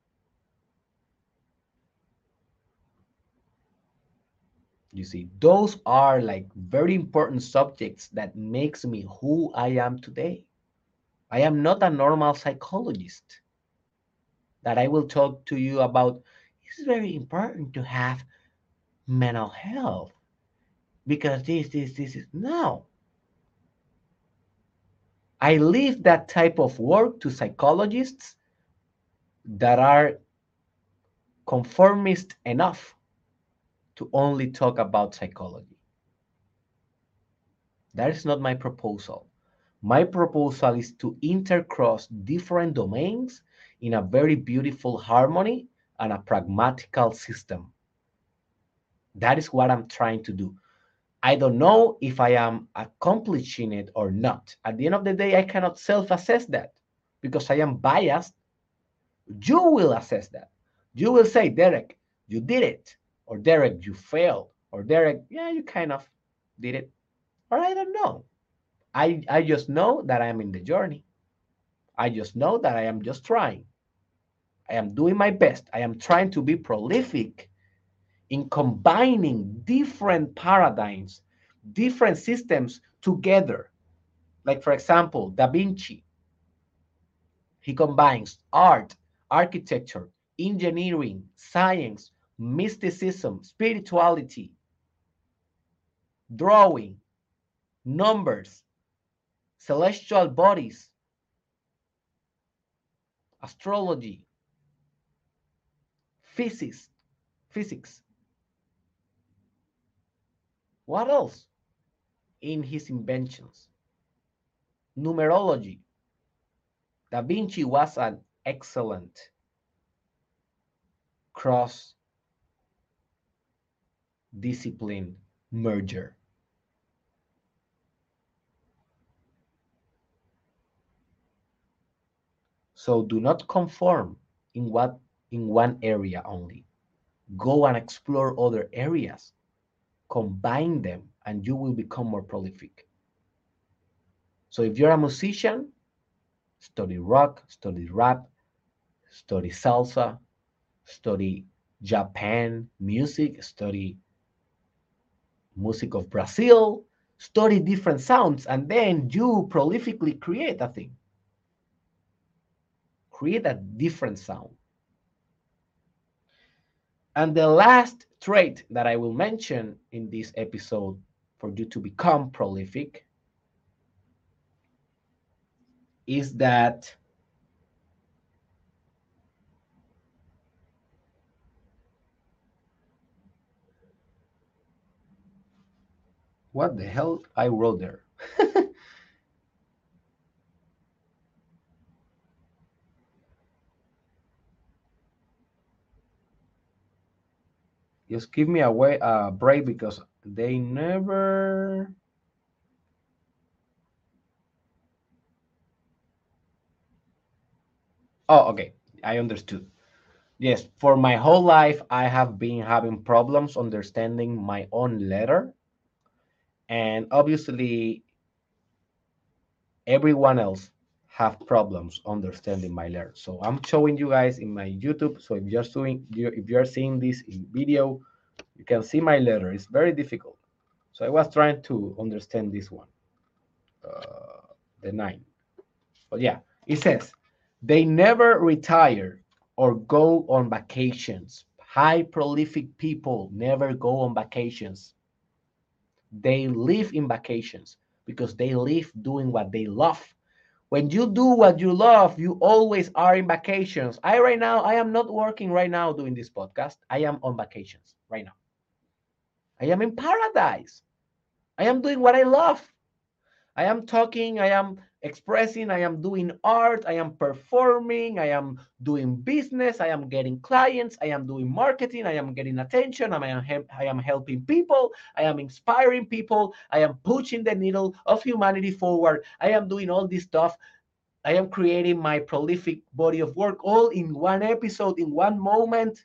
Speaker 1: You see, those are like very important subjects that makes me who I am today. I am not a normal psychologist that I will talk to you about. It's very important to have mental health because this is no. I leave that type of work to psychologists that are conformist enough to only talk about psychology. That is not my proposal. My proposal is to intercross different domains in a very beautiful harmony and a pragmatical system. That is what I'm trying to do. I don't know if I am accomplishing it or not. At the end of the day, I cannot self assess that because I am biased. You will assess that. You will say, Derek, you did it. Or Derek, you failed. Or Derek, yeah, you kind of did it. Or I don't know. I just know that I am in the journey. I just know that I am just trying. I am doing my best. I am trying to be prolific in combining different paradigms, different systems together. Like, for example, Da Vinci, he combines art, architecture, engineering, science, mysticism, spirituality, drawing, numbers, celestial bodies, astrology, physics, physics. What else in his inventions? Numerology. Da Vinci was an excellent cross discipline merger. So do not conform in one area only. Go and explore other areas. Combine them and you will become more prolific. So if you're a musician, study rock, study rap, study salsa, study Japan music, study music of Brazil, study different sounds, and then you prolifically create a thing. Create a different sound. And the last trait that I will mention in this episode for you to become prolific is that what the hell I wrote there? Just give me a break because they never. Oh, okay. I understood. Yes, for my whole life, I have been having problems understanding my own letter. And obviously, everyone else have problems understanding my letter. So I'm showing you guys in my YouTube. So if you're seeing this in video, you can see my letter. It's very difficult. So I was trying to understand this one, the nine. But yeah, it says they never retire or go on vacations. High prolific people never go on vacations. They live in vacations because they live doing what they love. When you do what you love, you always are in vacations. I am not working right now doing this podcast. I am on vacations right now. I am in paradise. I am doing what I love. I am talking, I am expressing, I am doing art, I am performing, I am doing business, I am getting clients, I am doing marketing, I am getting attention, I am helping people, I am inspiring people, I am pushing the needle of humanity forward, I am doing all this stuff. I am creating my prolific body of work all in one episode, in one moment,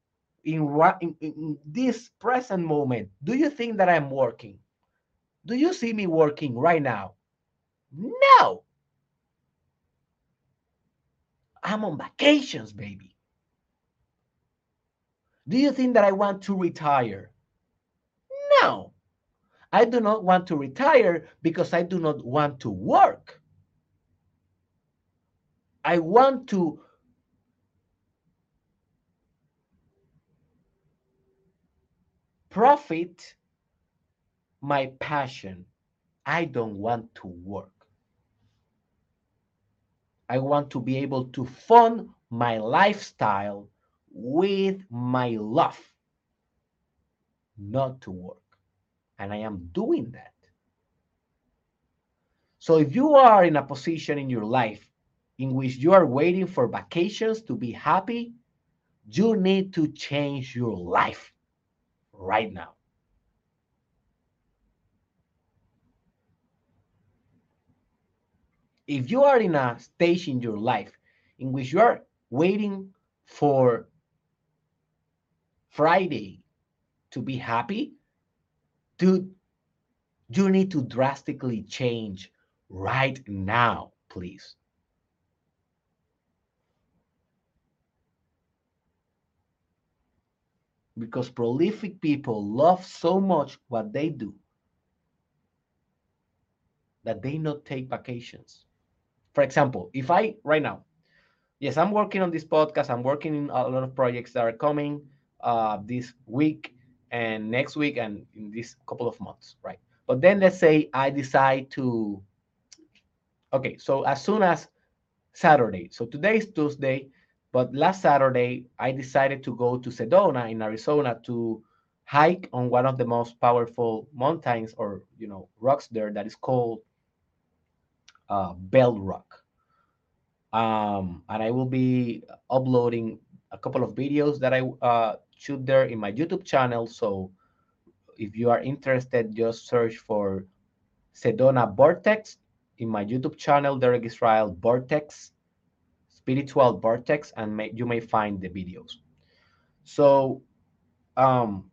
Speaker 1: in this present moment. Do you think that I'm working? Do you see me working right now? No, I'm on vacations, baby. Do you think that I want to retire? No, I do not want to retire because I do not want to work. I want to profit my passion. I don't want to work. I want to be able to fund my lifestyle with my love, not to work. And I am doing that. So if you are in a position in your life in which you are waiting for vacations to be happy, you need to change your life right now. If you are in a stage in your life in which you are waiting for Friday to be happy, dude, you need to drastically change right now, please. Because prolific people love so much what they do that they not take vacations. For example, if I right now, yes, I'm working on this podcast, I'm working in a lot of projects that are coming this week and next week and in this couple of months, right? But then let's say I decide to, okay, so as soon as Saturday, so today is Tuesday, but last Saturday I decided to go to Sedona in Arizona to hike on one of the most powerful mountains or rocks there that is called Bell Rock. And I will be uploading a couple of videos that I shoot there in my YouTube channel. So if you are interested, just search for Sedona Vortex in my YouTube channel, Derek Israel Vortex, Spiritual Vortex, and you may find the videos. So um,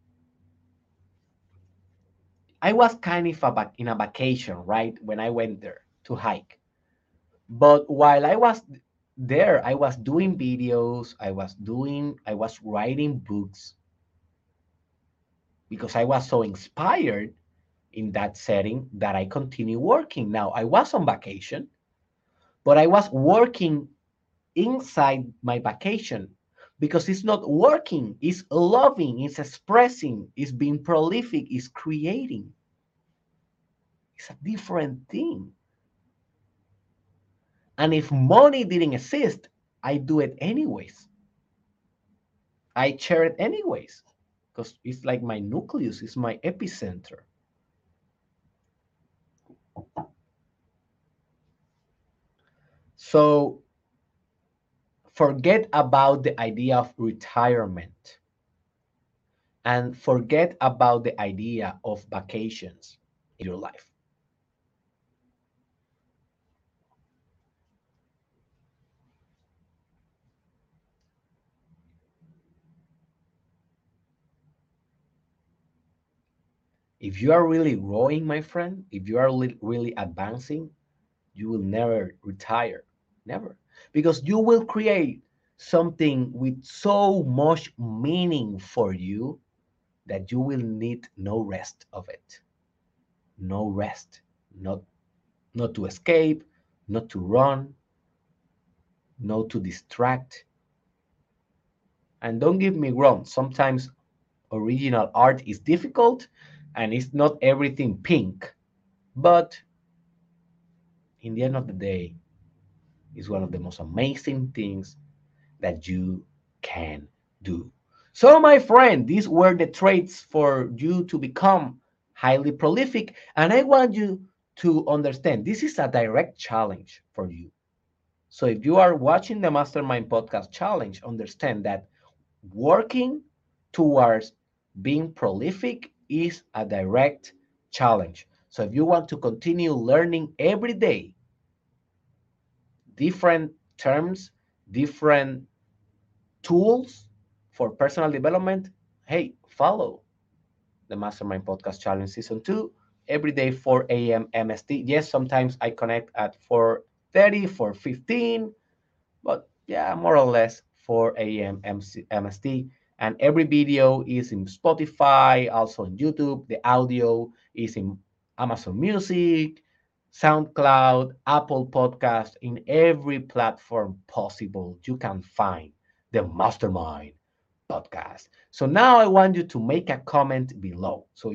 Speaker 1: I was kind of in a vacation, right, when I went there to hike. But while I was there, I was doing videos, I was writing books because I was so inspired in that setting that I continue working. Now, I was on vacation, but I was working inside my vacation because it's not working, it's loving, it's expressing, it's being prolific, it's creating. It's a different thing. And if money didn't exist, I do it anyways. I share it anyways because it's like my nucleus, it's my epicenter. So forget about the idea of retirement and forget about the idea of vacations in your life. If you are really growing, my friend, if you are really advancing, you will never retire. Never. Because you will create something with so much meaning for you that you will need no rest of it. No rest. Not not to escape, not to run, not to distract. And don't get me wrong, sometimes original art is difficult and it's not everything pink, but in the end of the day, it's one of the most amazing things that you can do. So, my friend, these were the traits for you to become highly prolific. And I want you to understand this is a direct challenge for you. So, if you are watching the Mastermind Podcast Challenge, understand that working towards being prolific is a direct challenge. So, if you want to continue learning every day different terms, different tools for personal development, hey, follow the Mastermind Podcast Challenge Season 2 every day 4 a.m. MST. Yes, sometimes I connect at 4:30, 4:15, but yeah, more or less 4 a.m. MST. And every video is in Spotify, also on YouTube. The audio is in Amazon Music, SoundCloud, Apple Podcast, in every platform possible. You can find the Mastermind Podcast. So now I want you to make a comment below. So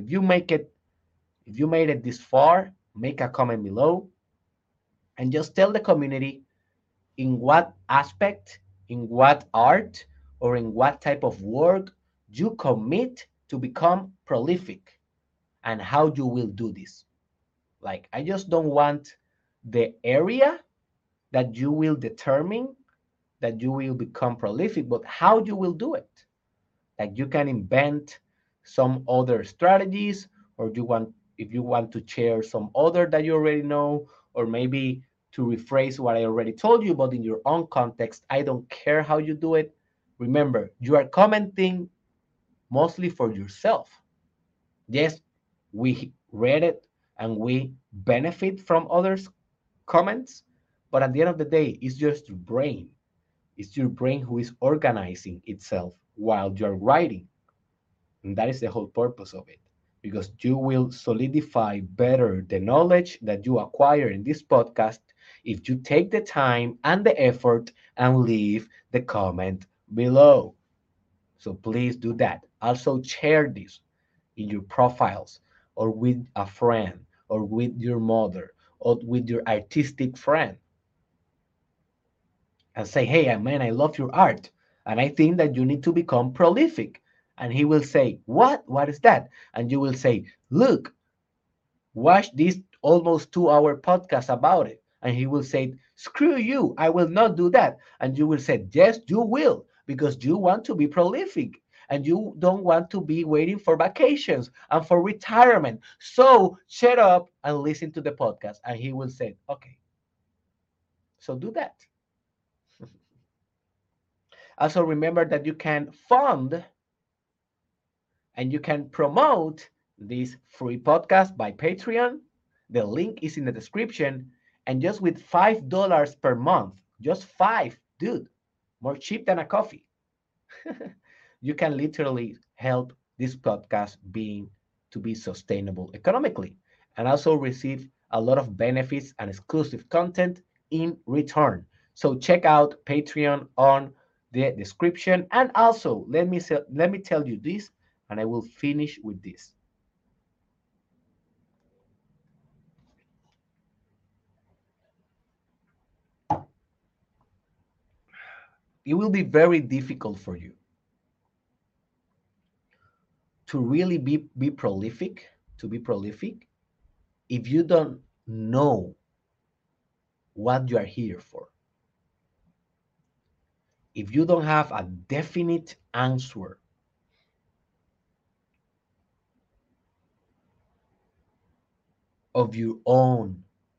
Speaker 1: if you made it this far, make a comment below and just tell the community in what aspect, in what art, or in what type of work you commit to become prolific and how you will do this. Like, I just don't want the area that you will determine that you will become prolific, but how you will do it. Like, you can invent some other strategies, or you want if you want to share some other that you already know, or maybe to rephrase what I already told you, but in your own context. I don't care how you do it. Remember, you are commenting mostly for yourself. Yes, we read it and we benefit from others' comments, but at the end of the day, it's just your brain. It's your brain who is organizing itself while you're writing. And that is the whole purpose of it, because you will solidify better the knowledge that you acquire in this podcast if you take the time and the effort and leave the comment below. So please do that. Also, share this in your profiles or with a friend or with your mother or with your artistic friend and say, hey, man, I love your art. And I think that you need to become prolific. And he will say, what? What is that? And you will say, look, watch this almost 2 hour podcast about it. And he will say, screw you, I will not do that. And you will say, yes, you will, because you want to be prolific and you don't want to be waiting for vacations and for retirement. So shut up and listen to the podcast. And he will say, okay, so do that. Also, remember that you can fund and you can promote this free podcast by Patreon. The link is in the description. And just with $5 per month, just five, dude, more cheap than a coffee, you can literally help this podcast being to be sustainable economically and also receive a lot of benefits and exclusive content in return. So check out Patreon on the description. And also, let me tell you this, and I will finish with this. It will be very difficult for you to really be prolific, to be prolific, if you don't know what you are here for. If you don't have a definite answer of your own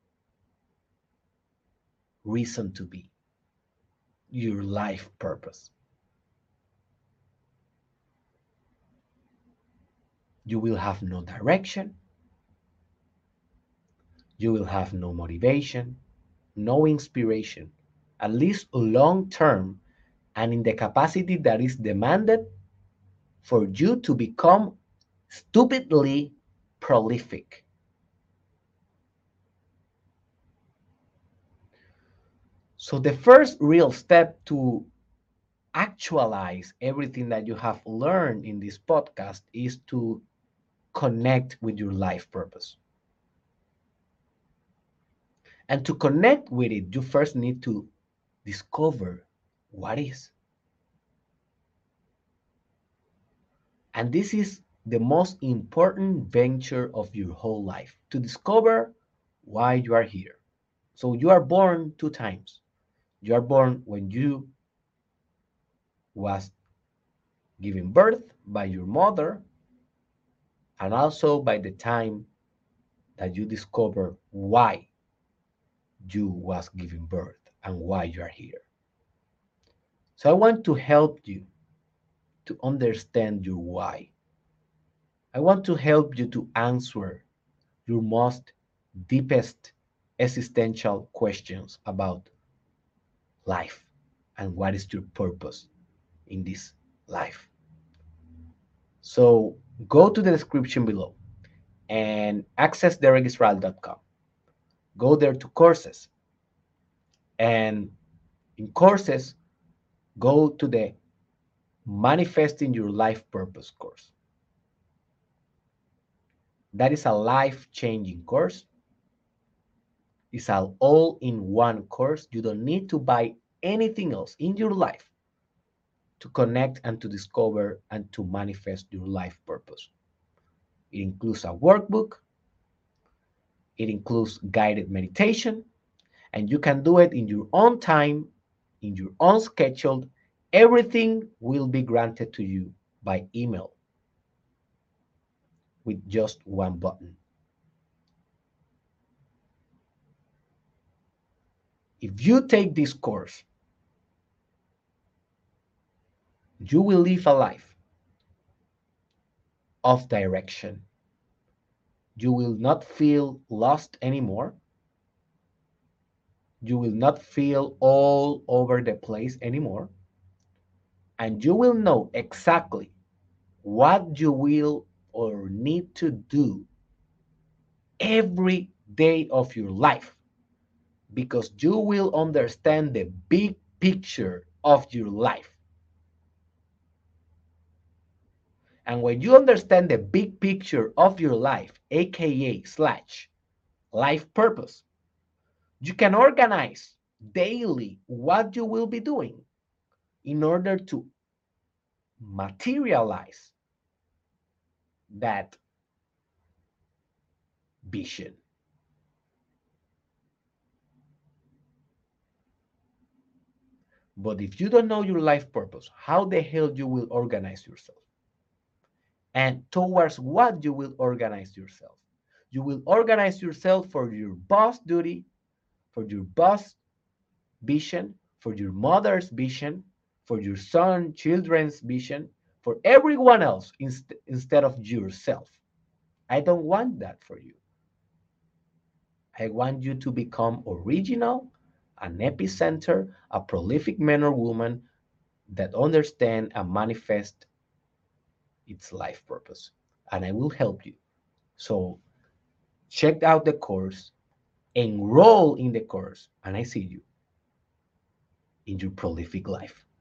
Speaker 1: reason to be, your life purpose, You will have no direction. You will have no motivation, no inspiration, at least long term, and in the capacity that is demanded for you to become stupidly prolific. So, the first real step to actualize everything that you have learned in this podcast is to connect with your life purpose. And to connect with it, you first need to discover what is. And this is the most important venture of your whole life to discover why you are here. So you are born two times. You are born when you was given birth by your mother, and also by the time that you discover why you was given birth and why you are here. So I want to help you to understand your why. I want to help you to answer your most deepest existential questions about life and what is your purpose in this life. So go to the description below and access derekisrael.com. Go there to courses, and in courses, go to the Manifesting Your Life Purpose course. That is a life changing course. It's an all in one course. You don't need to buy anything else in your life to connect and to discover and to manifest your life purpose. It includes a workbook, it includes guided meditation, and you can do it in your own time, in your own schedule. Everything will be granted to you by email with just one button. If you take this course, you will live a life of direction. You will not feel lost anymore. You will not feel all over the place anymore. And you will know exactly what you will or need to do every day of your life, because you will understand the big picture of your life. And when you understand the big picture of your life, aka slash life purpose, you can organize daily what you will be doing in order to materialize that vision. But if you don't know your life purpose, how the hell you will organize yourself? And towards what you will organize yourself? You will organize yourself for your boss duty, for your boss vision, for your mother's vision, for your son, children's vision, for everyone else instead of yourself. I don't want that for you. I want you to become original, an epicenter, a prolific man or woman that understand and manifest its life purpose. And I will help you. So check out the course, enroll in the course, and I see you in your prolific life.